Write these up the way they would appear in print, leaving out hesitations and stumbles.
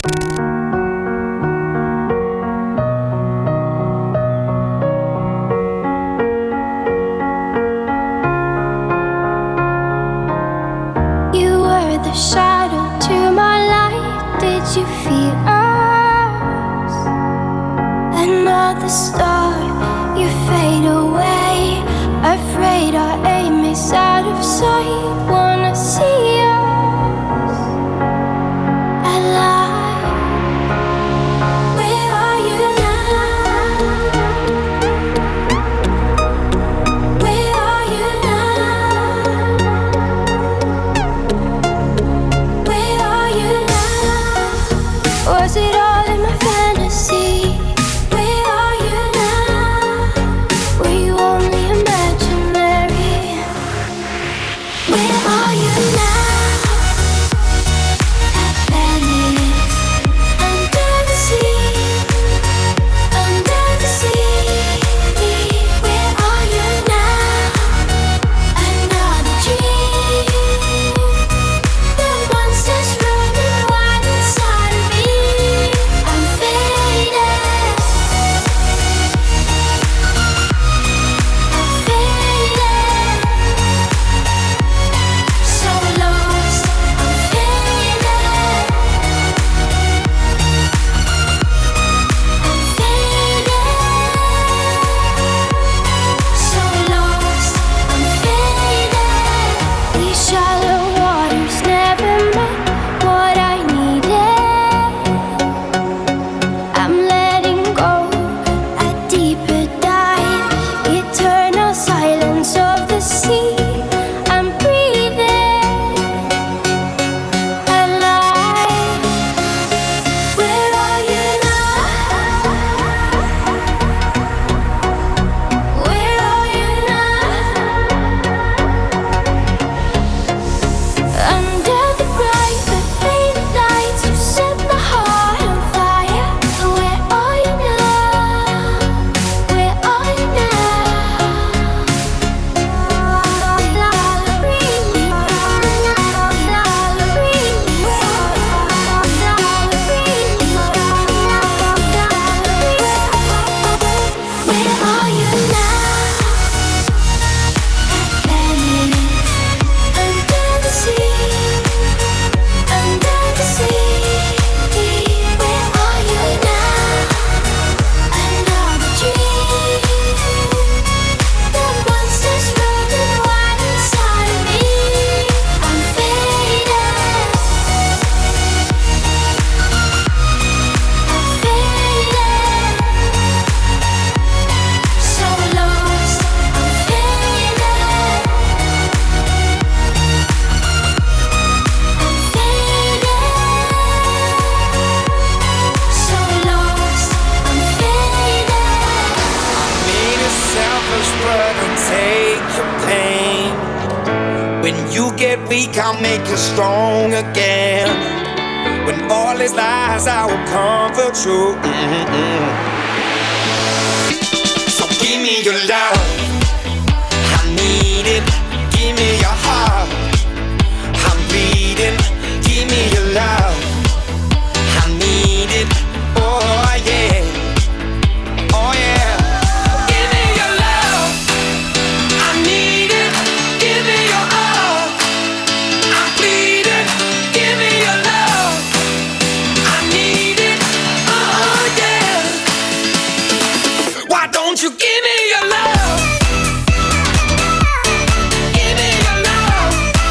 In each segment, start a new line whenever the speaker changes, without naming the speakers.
weak, I'll make you strong again. When all is lies, I will comfort you. So give me your love, I need it. Give me your heart, I'm bleeding. Give me your love, I need it. Oh yeah, oh yeah. Give me your love, I need it. Give me your all, I'm bleeding. Give me your love, I need it. Oh yeah. Why don't you give me your love? Give me your love.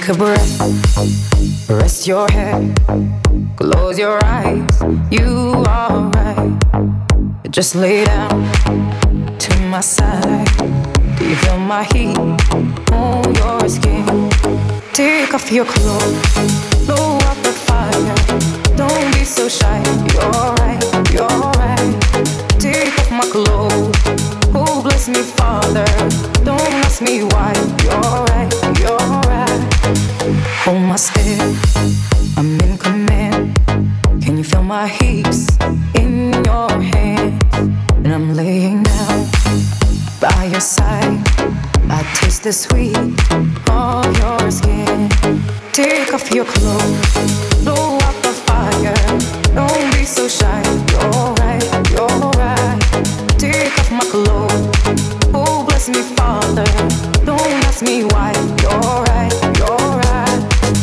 a breath, rest your head, close your eyes, you are right. Just lay down to my side. Do you feel my heat on your skin? Take off your clothes, blow up the fire. Don't be so shy, you're right, you're right. Take off my clothes, oh bless me Father. Don't ask me why, you're right, you're right. Hold my step, I'm in command. Can you feel my hips in your hands? And I'm laying down by your side. I taste the sweet of your skin. Take off your clothes, blow up the fire. Don't be so shy, you're right, you're right. Take off my clothes, oh bless me Father. Don't ask me why, you're right, you're right.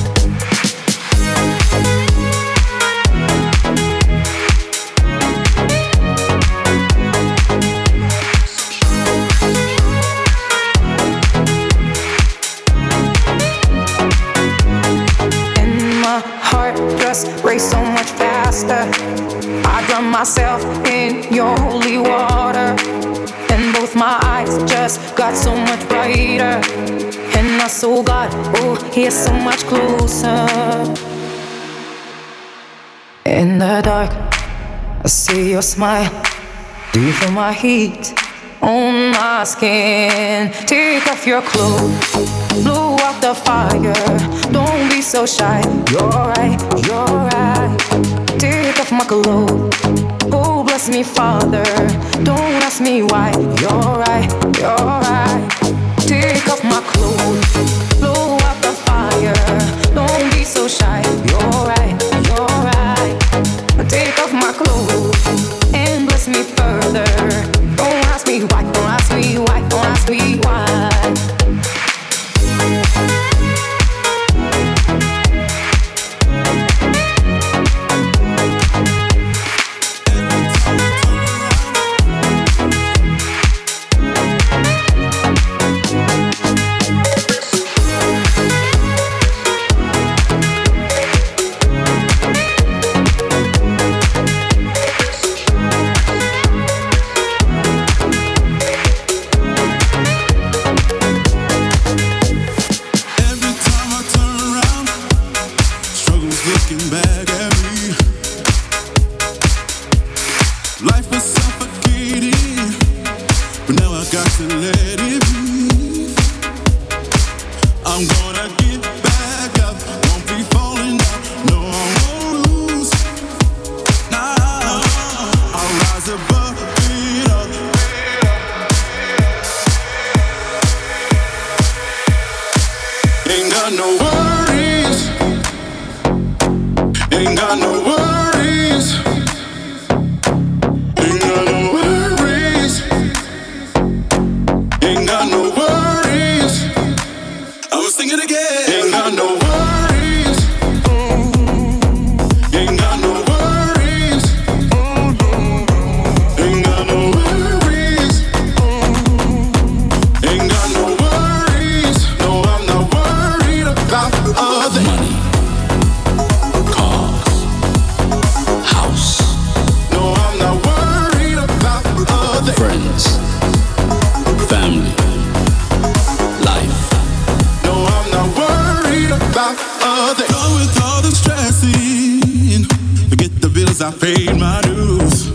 Race so much faster. I drown myself in your holy water, and both my eyes just got so much brighter. And I saw God, oh, He is so much closer. In the dark, I see your smile. Do you feel my heat on my skin? Take off your clothes, blow out the fire. Don't be so shy, you're right, you're right. Take off my clothes, oh bless me Father. Don't ask me why, you're right, you're right. Take off my clothes, blow out the fire. Don't be so shy, you're right, you're right. Take off my clothes and bless me further. Don't ask me why, don't ask me why, don't ask me why.
I paid my dues.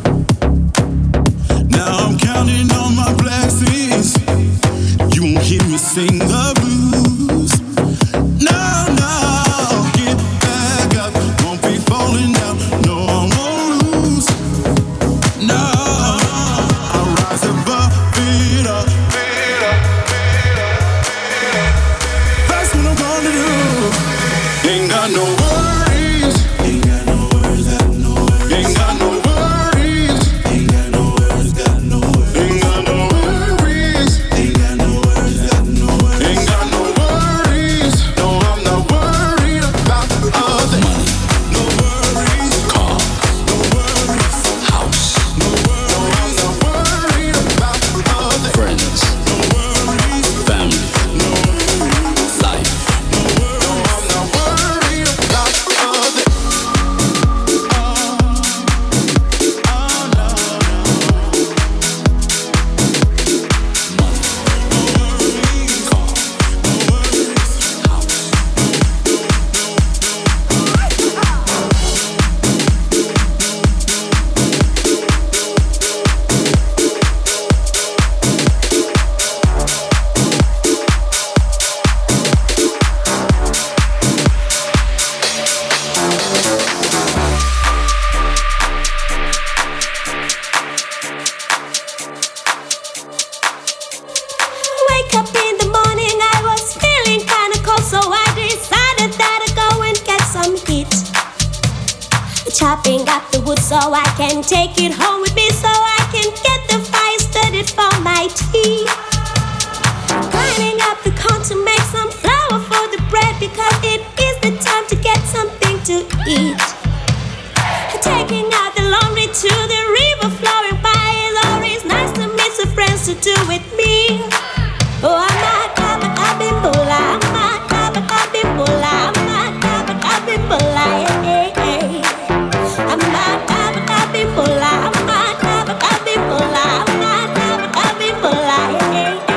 Now I'm counting on my blessings. You won't hear me sing the blues. No, no, get back up. Won't be falling down. No, I won't lose. No, I'll rise above it up. That's what I'm gonna do. Ain't got no worries. Ain't got no worries. Ain't got no
wake up in the morning, I was feeling kinda cold, so I decided that I'd go and get some heat. Chopping up the wood so I can take it home with me, so I can get the fire started for my tea. Grinding up the corn to make some flour for the bread, because it is the time to get something to eat. Taking out the laundry to the river flowing by, it's always nice to meet some friends to do with me. Oh, I'm not coming up in Bula, I'm not coming up in Bula, I'm not coming up in Bula, hey, hey. I'm not coming up in Bula, I'm not coming up in Bula, I'm not coming up in Bula, hey, hey.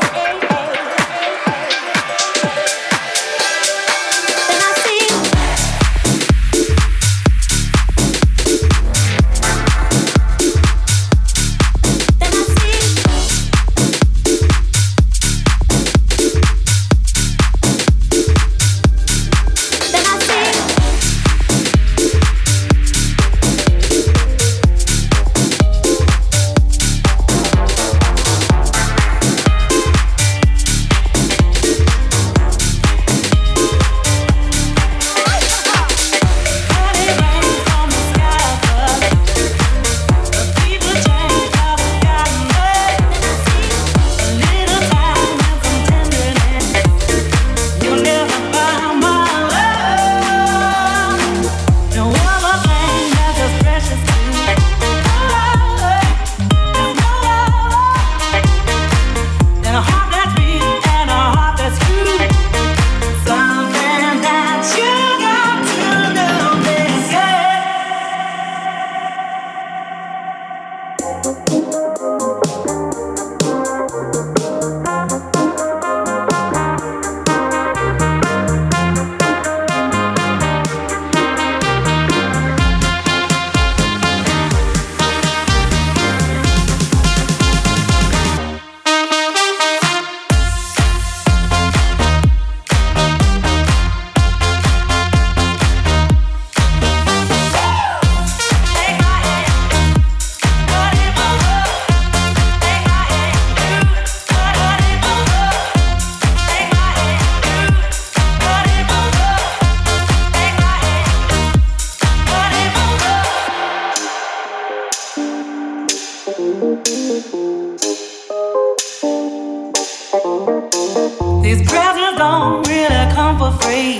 These presents don't really come for free.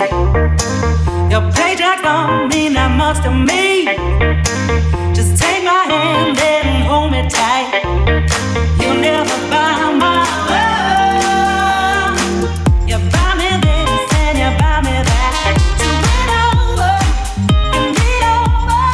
Your paycheck don't mean that much to me. Just take my hand and hold me tight. You'll never buy my love. You buy me this and you buy me that. To win over and be over.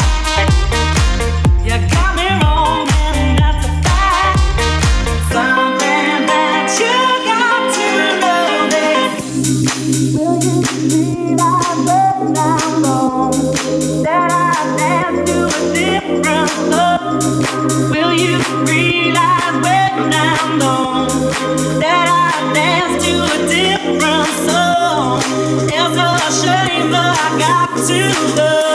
You got me wrong and that's a fact. Something that you got to know this. Will you realize when I'm gone that I dance to a different love? Will you realize when I'm gone that I dance to a different song? It's a shame that I got to love.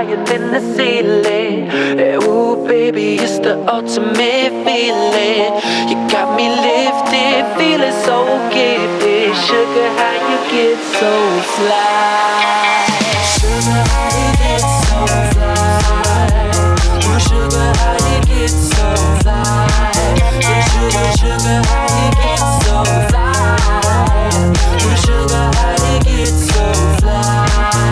higher than the ceiling. Ooh, baby, it's the ultimate feeling. You got me lifted, feeling so gifted. Sugar, how you get so fly? Sugar, how you get so fly? Ooh, sugar, how you get so fly? Sugar, sugar, how you get so fly? Ooh, sugar, how you get so fly?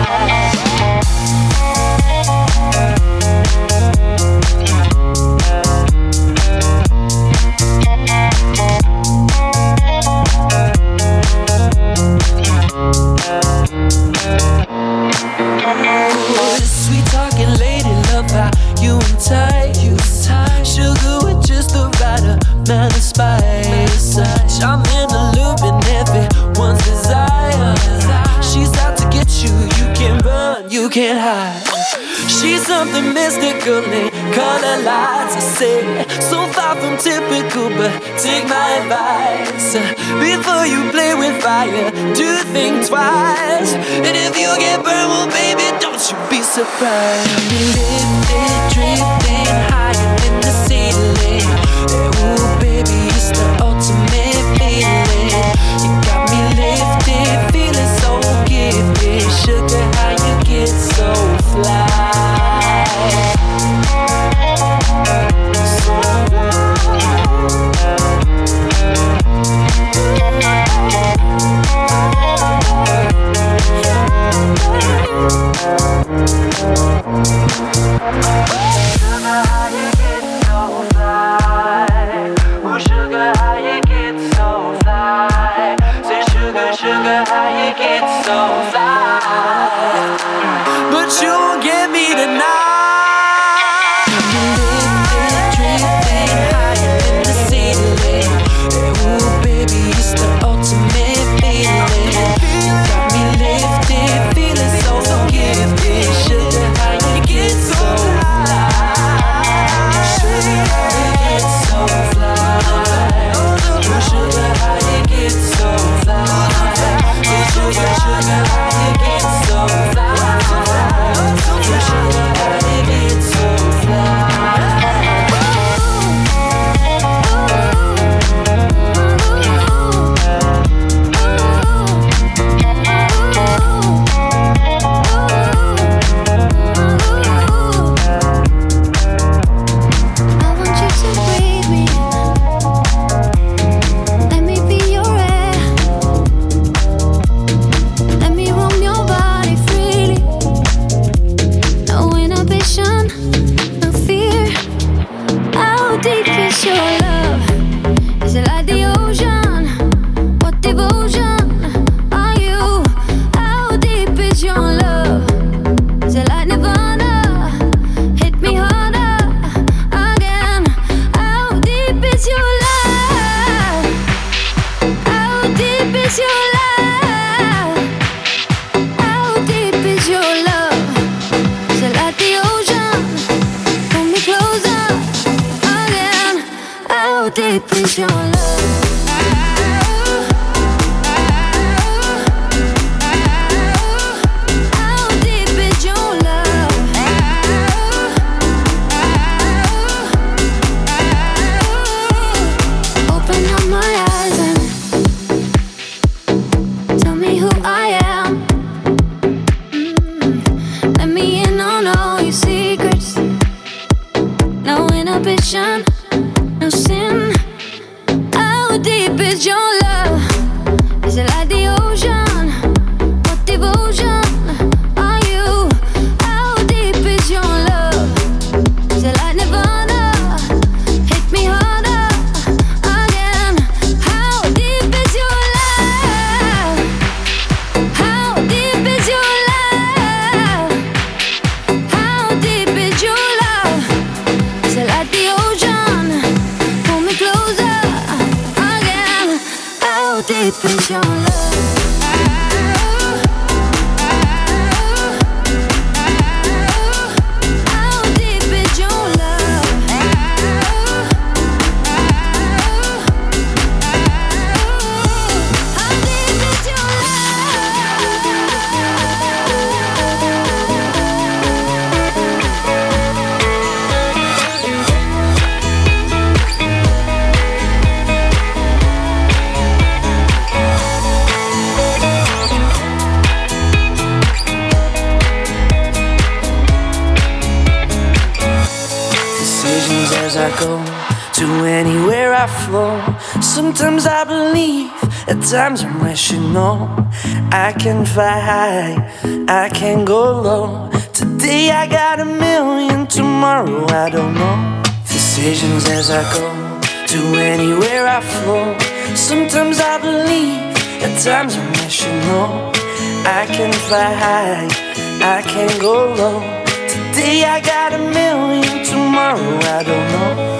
Sweet talking lady, love how you entice. Sugar with just the right amount of spice. Charming, alluring, everyone's desire. She's out to get you, you can't run, you can't hide. She's something mystical in color lights. I say, so far from typical, but take my advice. Before you play with fire, do think twice. And if you get burned, well, baby, don't you be surprised. Lifted, drifting higher than the ceiling. Ooh, baby, it's the ultimate feeling. You got me lifted, feeling so gifted. Sugar, how you get so fly? Sometimes I believe, at times I'm rational. I can fly high, I can go low. Today I got a million, tomorrow I don't know. Decisions as I go, to anywhere I flow. Sometimes I believe, at times I'm rational. I can fly high, I can go low. Today I got a million, tomorrow I don't know.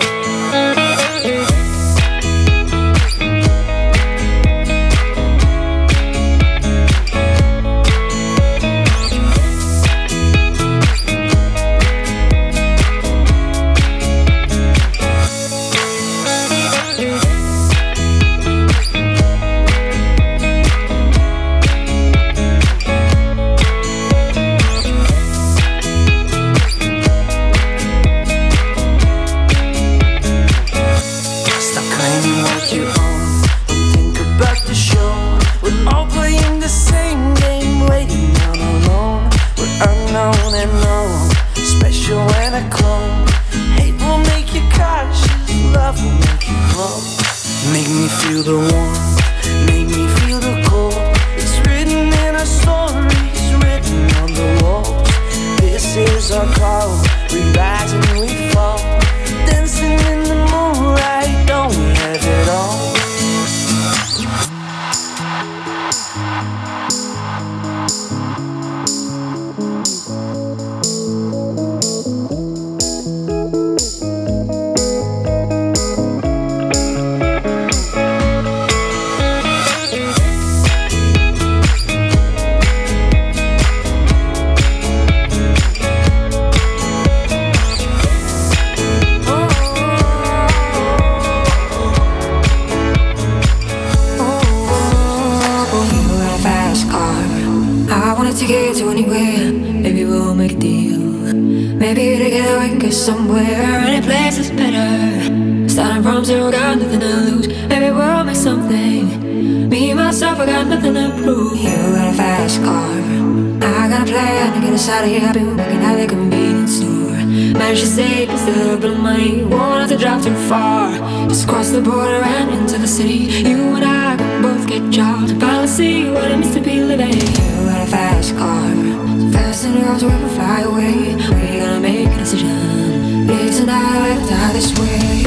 Make me feel the warmth, make me feel the cold. It's written in our stories, written on the walls. This is our call, we rise and we fall. Dancing in the moonlight, don't we have it all?
To get to anywhere, maybe we'll make a deal. Maybe together we can get somewhere. Any place is better. Starting from zero, got nothing to lose. Maybe we'll make something. Me, myself, I got nothing to prove. You got a fast car, I got a plan to get us out of here. I've been working at the convenience store. Managed to save just a little bit of money. Won't have to drive too far. Just cross the border and into the city. You and I can both get jobs. Finally see what it means to be living. You got a fast car, so fast enough so we can fly away. We're gonna make a decision. Live tonight or die this way.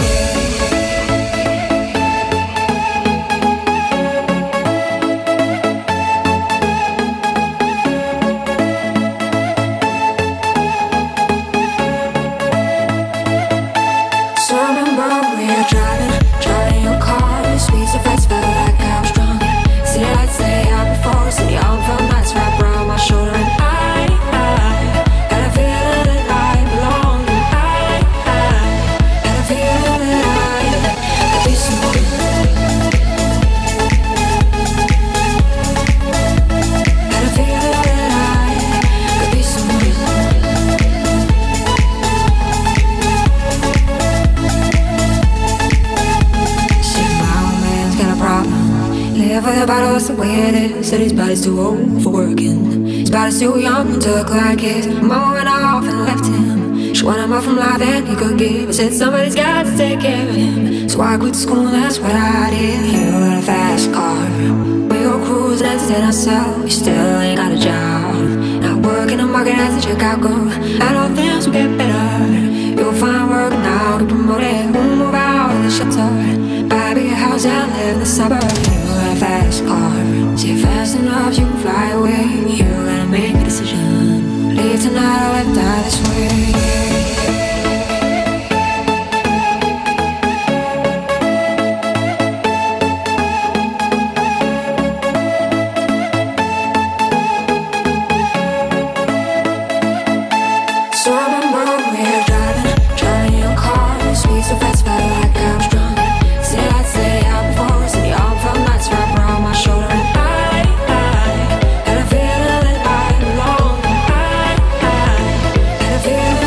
That's the way it is. Said his body's too old for working. His body's too young to look like his. Mama went off and left him. She wanted more from life than he could give. I said somebody's got to take care of him. So I quit school, that's what I did. You got a fast car, we go cruise and entertain ourselves. You still ain't got a job, not working the market as a checkout girl. I know things will get better. You'll find work now, get promoted. We'll move out of the shelter, buy a bigger house and live in the suburbs. Fast car, see fast enough you can fly away. You gotta make a decision. Leave tonight or let die this way.
Feel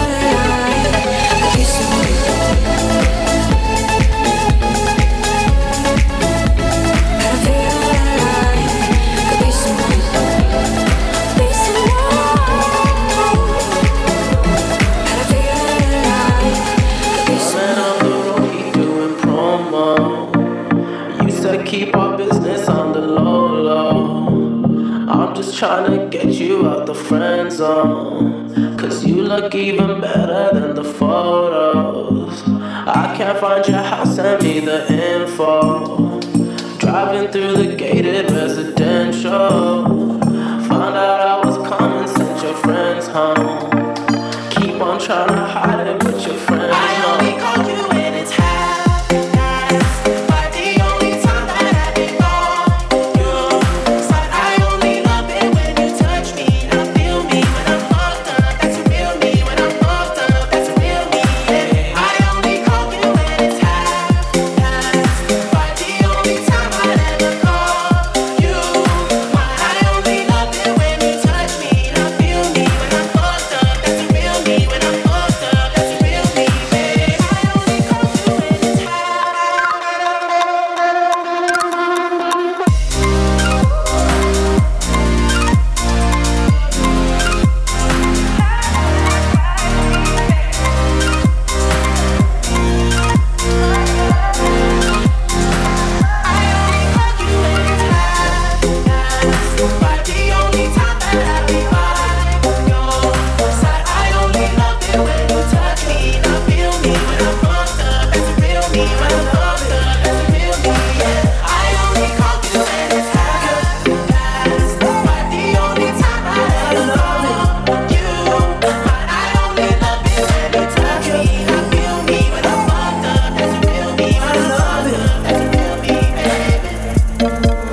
keep our business on the low low. I'm just trying to get you out the friend zone, 'cause you look even better than the photos. I can't find your house, send me the info. Driving through the gated residential, found out I was coming, sent your friends home. Keep on trying to hide it, but your friends know. I only call you when it's happy nights, but the only time that I think on you is that I only love it when you touch me. Now feel me when I'm fucked up, that's a real me. When I'm fucked up, that's a real me. Yeah. I only call you when it's happy nights, but the only time I ever call you. I only love it when you touch me. Now feel me when I'm fucked up, that's a real me. When I'm fucked up, that's a real me, babe. I only call you when it's happy. But the only time that I be by your side, I only love it when you touch me. Now feel me when I'm fucked up, that's a real me. When I'm fucked up, that's a real me, yeah. I only call you when it's happy. But the only time I ever love you. But I only love it when you touch me. Now feel me when I'm fucked up, that's a real me. When I'm fucked up, that's a real me, baby.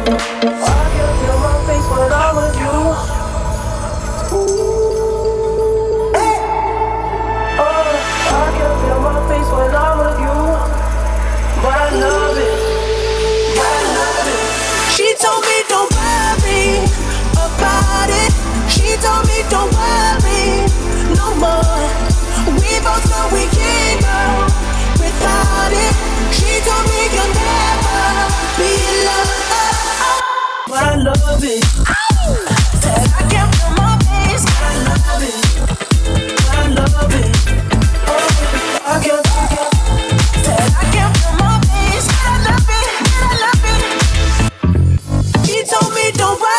She told me don't worry about it. She told me don't worry no more. We both know we can't go without it. She told me you'll never be alone, but I love it. Said I can't feel my face, but I love it. But I love it. Oh, I can't. Said I can't feel my face, but I love it. But I love it. She told me don't worry.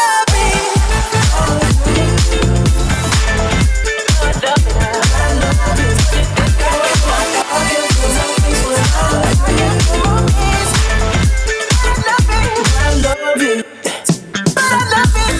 I love it.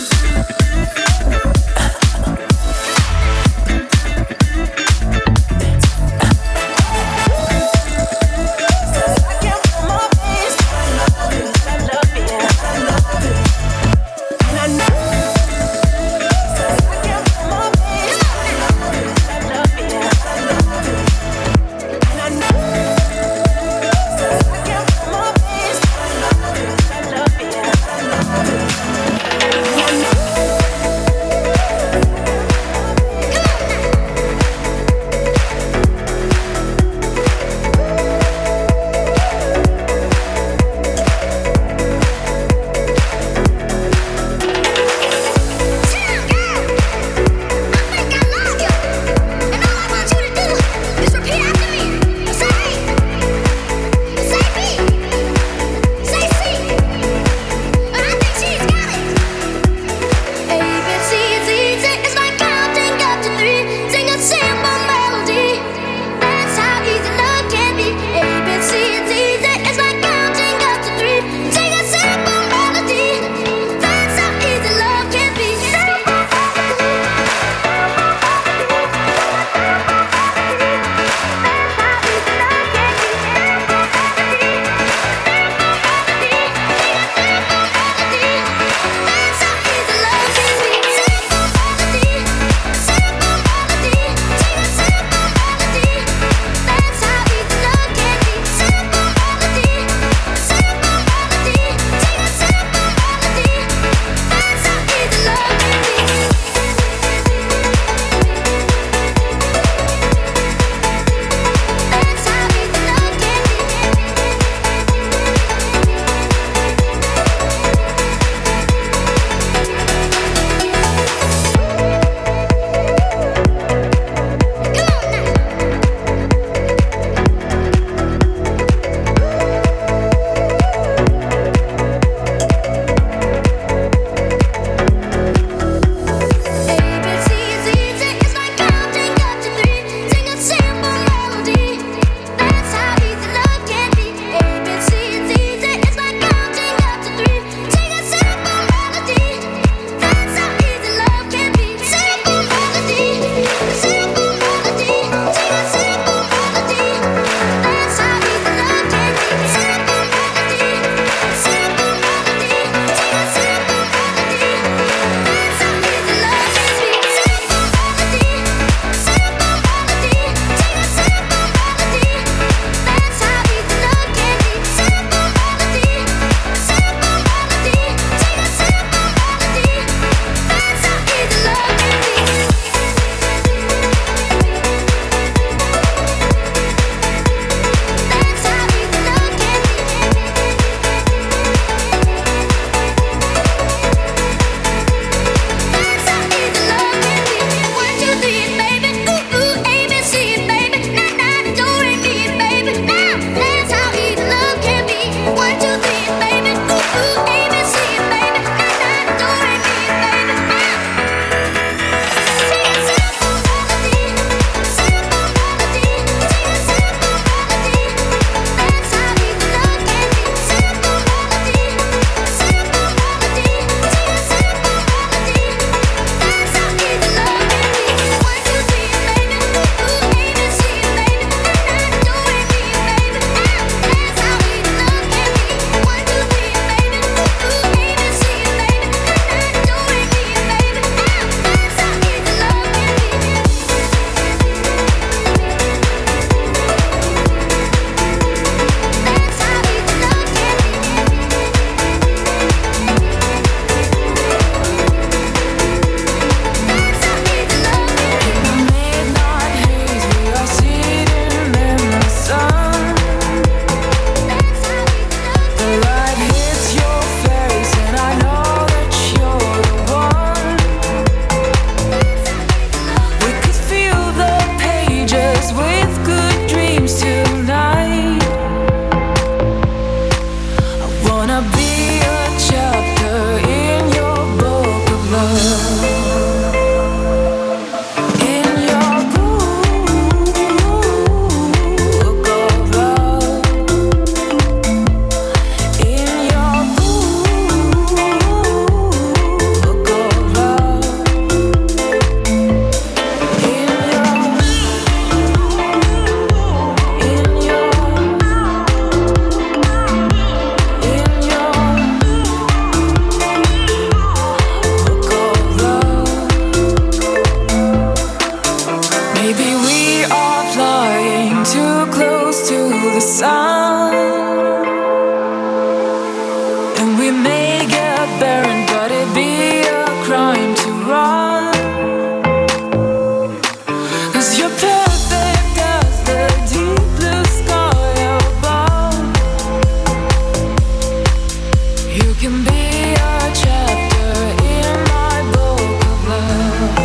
can be a chapter in my book of love.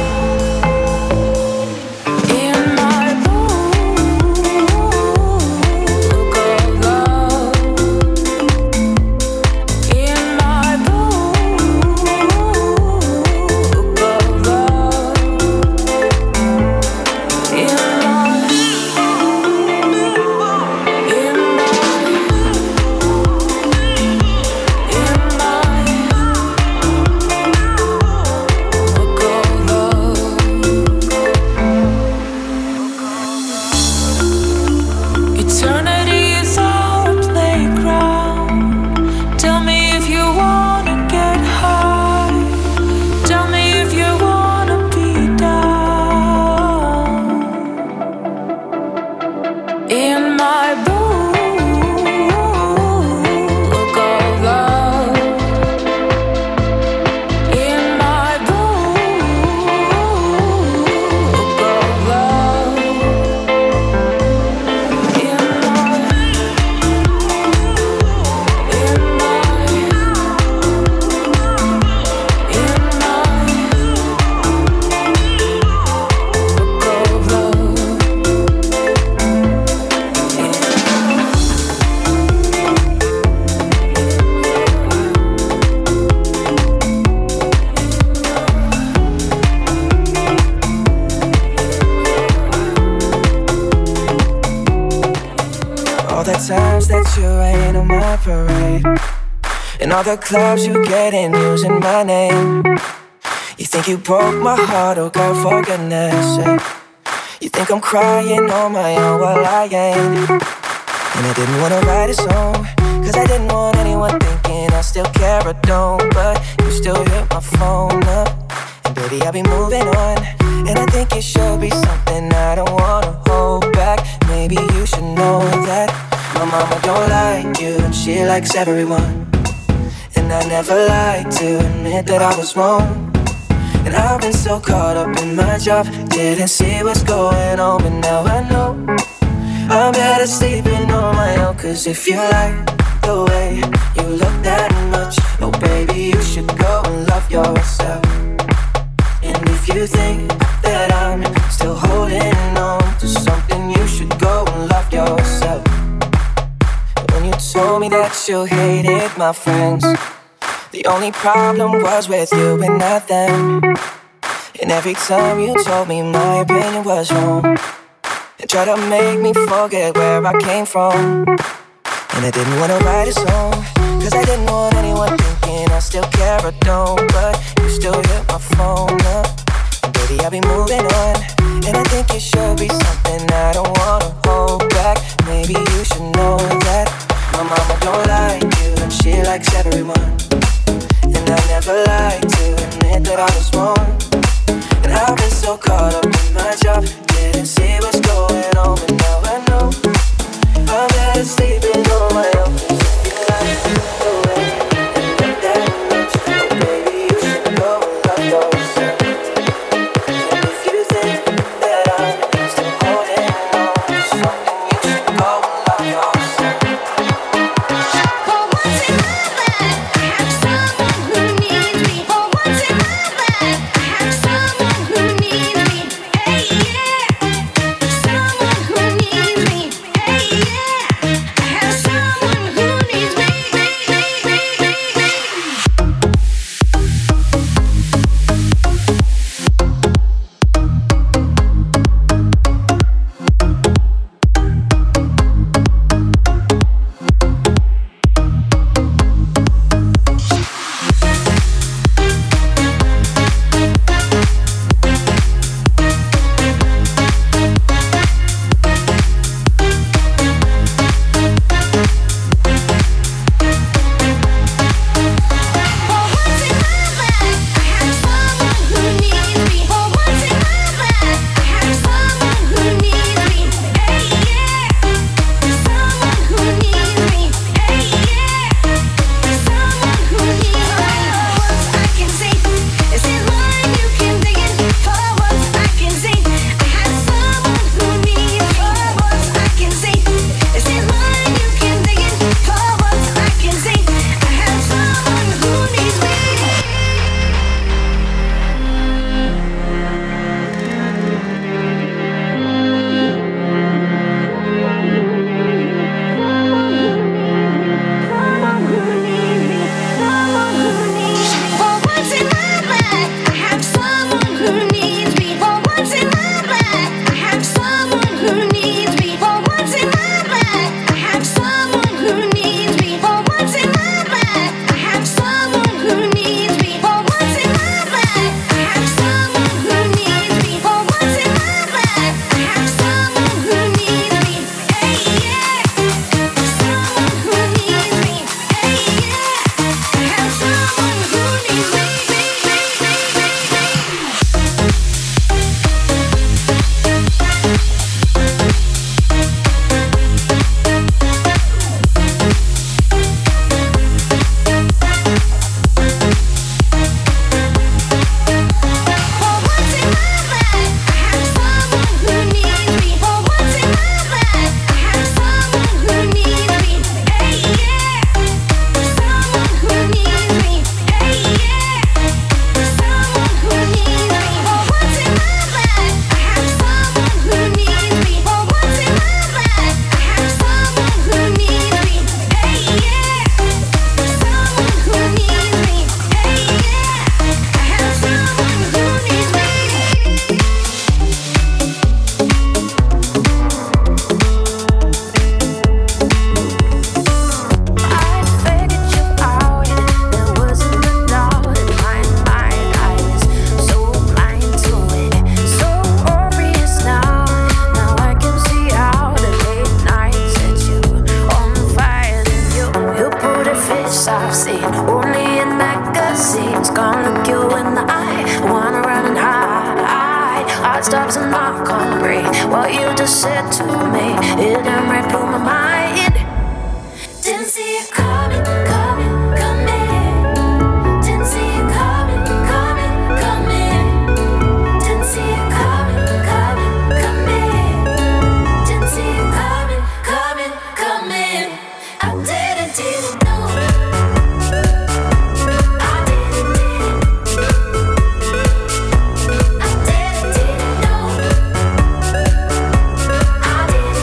In my book of love. In my book of love. In eternity is our playground. Tell me if you wanna get high. Tell me if you wanna be down. In my book of love. In my book of love.
All the times that you rain on my parade, and all the clubs you get in using my name. You think you broke my heart, oh girl, for goodness sake. You think I'm crying on my own, well I ain't. And I didn't wanna write a song, cause I didn't want anyone thinking I still care or don't. But you still hit my phone up, and baby I'll be moving on. And I think it should be something I don't wanna hold back. Maybe you should know that my mama don't like you, and she likes everyone. And I never like to admit that I was wrong. And I've been so caught up in my job, didn't see what's going on. But now I know I'm better sleeping on my own. Cause if you like the way you look that much, oh baby, you should go and love yourself. And if you think that I'm still holding on to something, you should go and love yourself. When you told me that you hated my friends, the only problem was with you and not them. And every time you told me my opinion was wrong, and tried to make me forget where I came from. And I didn't wanna write a song, cause I didn't want anyone thinking I still care or don't. But you still hit my phone up, and baby I'll be moving on. And I think it should be something I don't wanna hold back. Maybe you should know that my mama don't like you, and she likes everyone. And I never like to admit that I was wrong. And I've been so caught up in my job, didn't see what's going on. But now I know I'm better sleeping on my own. If you like the way and look that much, oh baby, you should go and love yourself. And if you think that I'm still holding on to something, you should go and love yourself.
For once in my life, I have someone who needs me. For once in my life, I have someone who needs me. Hey yeah, someone who needs me. Hey yeah, I have
seen only in magazines. Gonna look you in the eye, wanna run and hide. Heart stops and I can't breathe. What you just said to me, it done right through my mind. Didn't see it coming, coming, coming. Didn't see it coming, coming, coming. Didn't see it coming, coming, coming. Didn't see it coming, coming, coming. I didn't know. I didn't know. I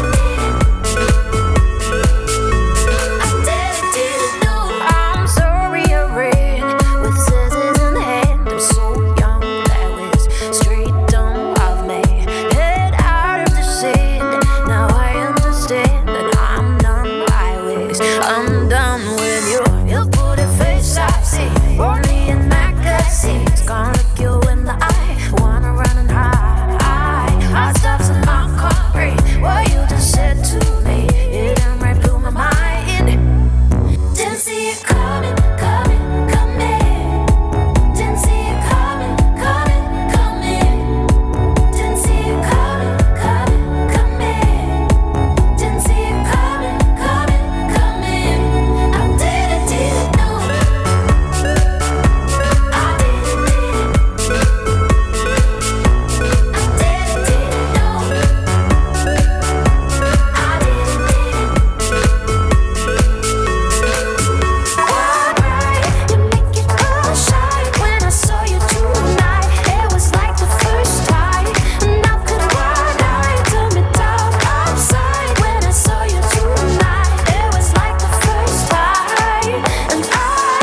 didn't know. I'm sorry I ran with scissors in hand. I'm so young, that was straight dumb of me. Get out of the sand. Now I understand that I'm done. I'm done with you. You put a face I see only in magazines. Gonna look you in the eye, wanna run and hide. Heart stops and I can't breathe. What you just said to me, it done right through my mind. Didn't see it coming, coming, coming. Didn't see it coming, coming, coming. Didn't see it coming, coming, coming. Didn't see it coming, coming, coming. I didn't know. I didn't know. You make it all shine when I saw you tonight. It was like the first time. Now could one eye turn me down upside when I saw you tonight. It was like the first time, and I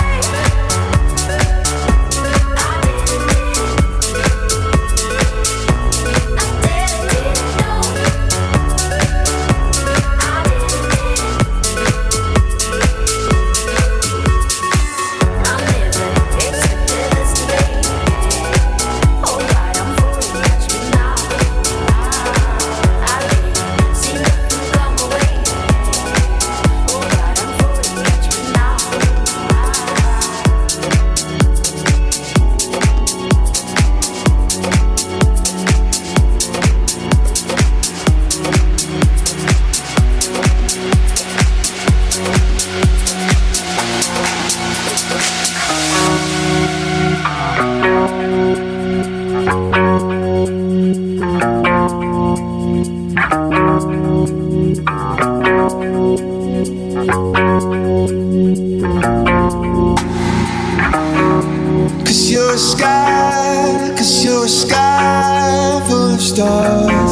Cause you're a sky full of stars.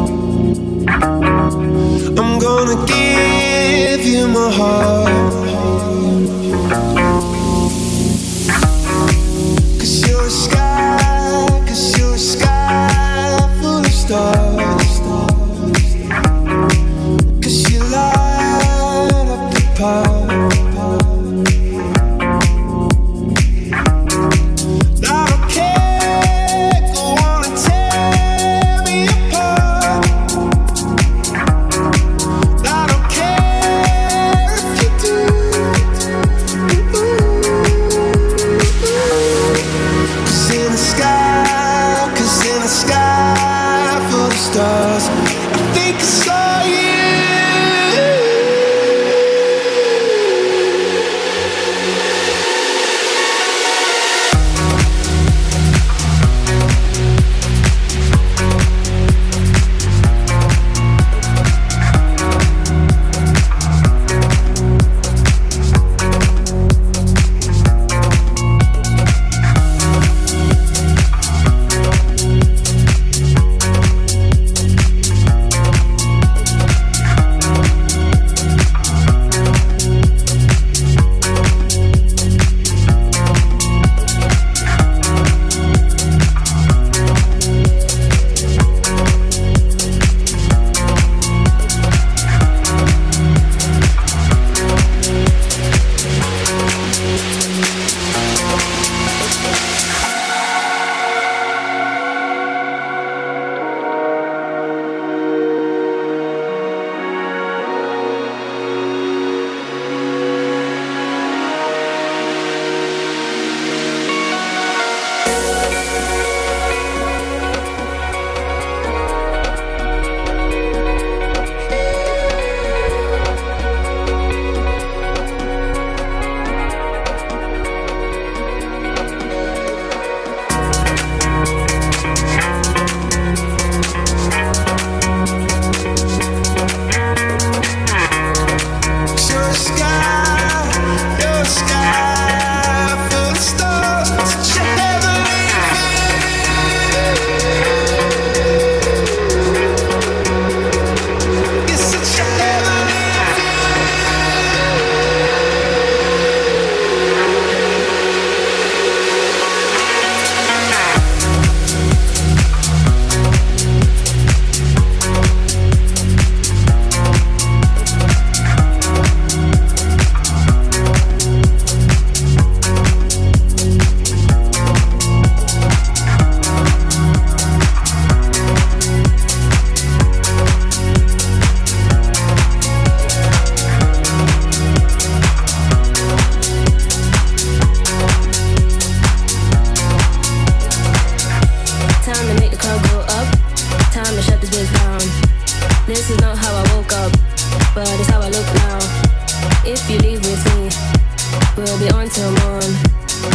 I'm gonna give you my heart. Cause you're a sky full of stars. Cause you light up the path. If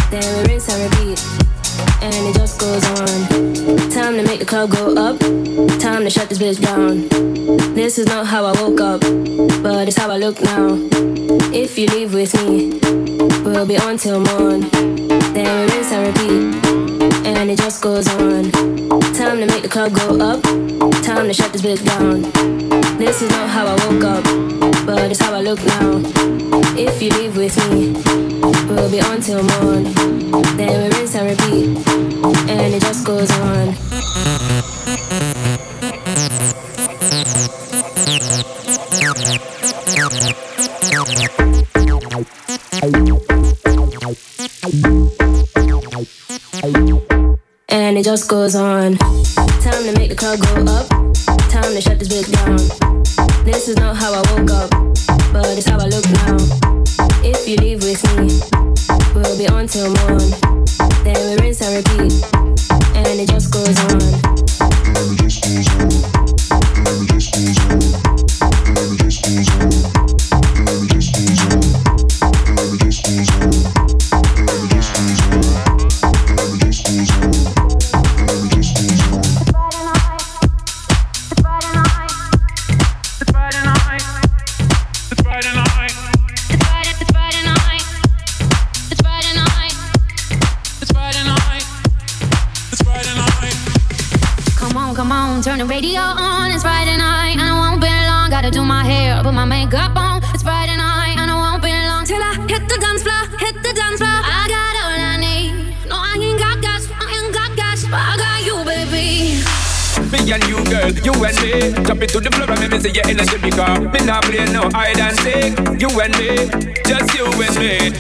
then we rinse and repeat, and it just goes on. Time to make the club go up, time to shut this bitch down. This is not how I woke up, but it's how I look now. If you leave with me, we'll be on till morn. Then we rinse and repeat, and it just goes on. Time to make the club go up, time to shut this bitch down. This is not how I woke up, but it's how I look now. If you leave with me, we'll be on till morn. Then we rinse and repeat, and it just goes on. And it just goes on. Time to make the club go up, time to shut this bitch down. This is not how I woke up, but it's how I look now. If you leave with me, we'll be on till morn. Then we rinse and repeat, and it just goes on. And it just goes on. And it just goes on. And it just goes on. And it just goes on. And it just goes on. And it just goes on. And it just goes on. And it just goes on. It's Friday night. It's Friday night. It's Friday night. It's Friday night. It's Friday night. It's Friday night. It's Friday night. It's Friday night. Come on, turn the radio on. It's Friday night, and I won't be long. Gotta do my hair, put my makeup on. It's Friday night, and I won't be long till I hit the dance floor, hit the dance floor. I got all I need. No, I ain't got gas, but I got you, baby.
Me and you, girl, you and me. Jump into the floor and make me see your energy because me not play no hide and seek. You and me, just you and me.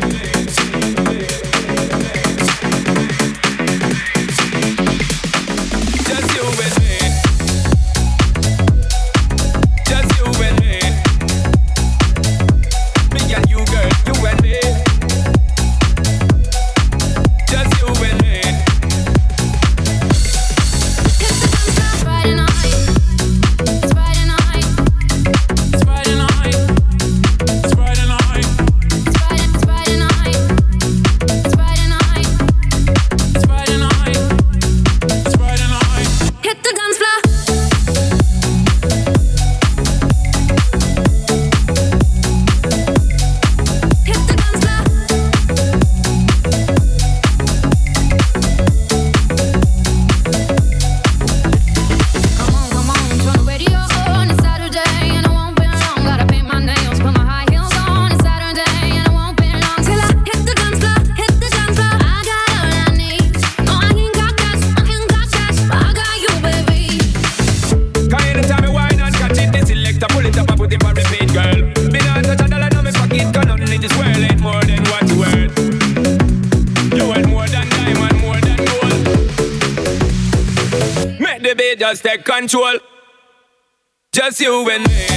Just take control. Just you and me.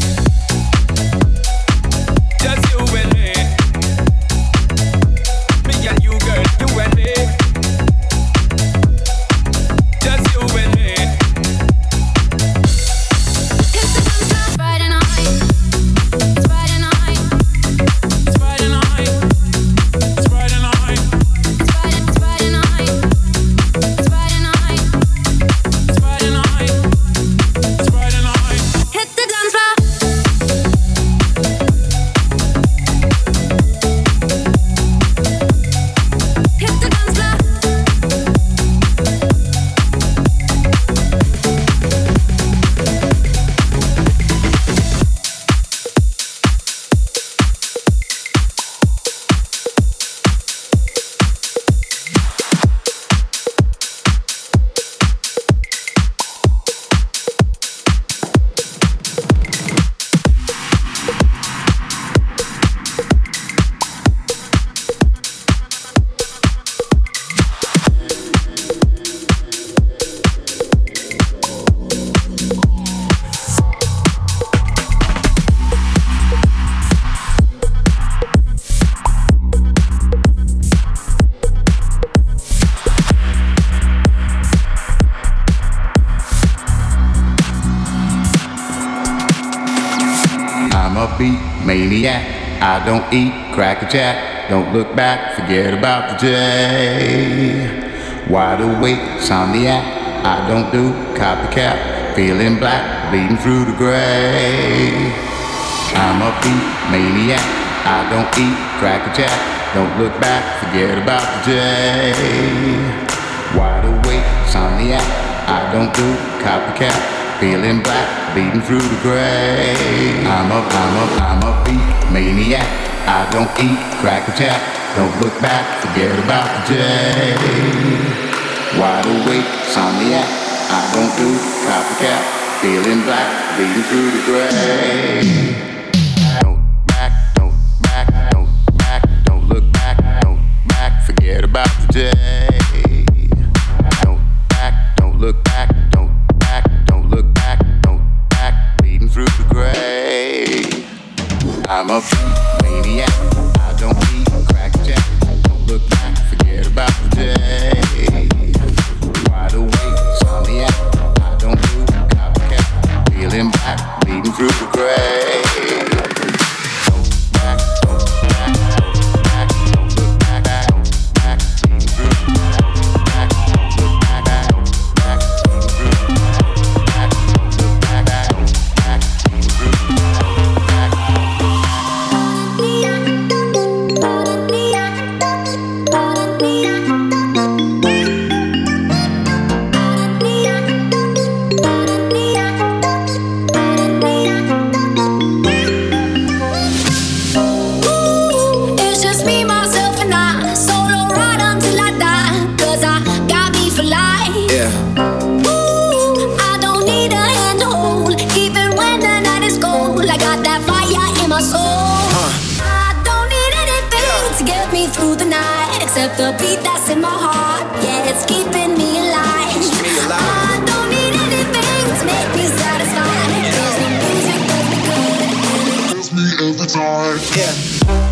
Just you and me. Me and you, girl, you and me. Just you and me. It's Friday night. It's Friday night. It's Friday night. It's Friday night. It's Friday night. It's Friday night. It's Friday night. It's Friday night. Hit the dance floor. Hit the dance floor.
I'm a beat maniac. I don't eat cracker jack. don't look back, forget about the day. Wide awake, insomniac, I don't do copycat, feeling black, bleeding through the gray. I'm a beat maniac, I don't eat cracker jack, don't look back, forget about the day. Wide awake, insomniac, I don't do copycat, feeling black, bleeding through the gray. I'm a beat maniac, I don't eat cracker jack, don't look back, forget about the day. Wide awake, insomniac, I don't do copycat, feeling black, bleeding through the gray. Don't look back, forget about the day. Don't look back, bleeding through the gray. I'm a maniac, I don't eat cracker jack, don't look back, forget about the day. Wide awake, insomniac, I don't do copycat, feeling black, bleeding through the gray.
Except the beat that's in my heart, yeah, it's keeping me alive. I don't need anything to make me satisfied. Cause the music does me good and it kills me every time. Yeah.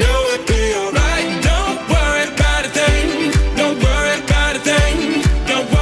Don't worry about a thing.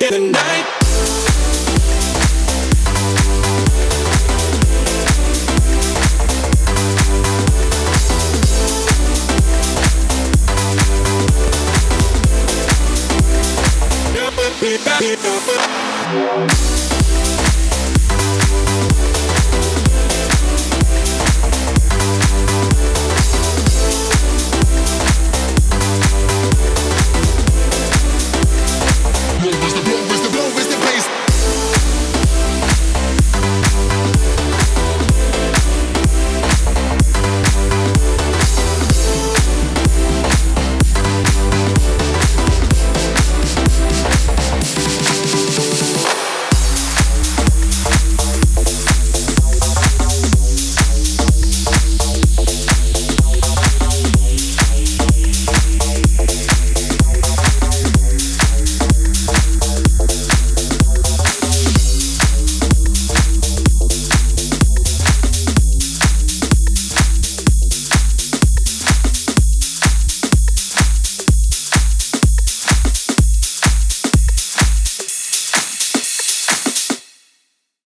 tonight.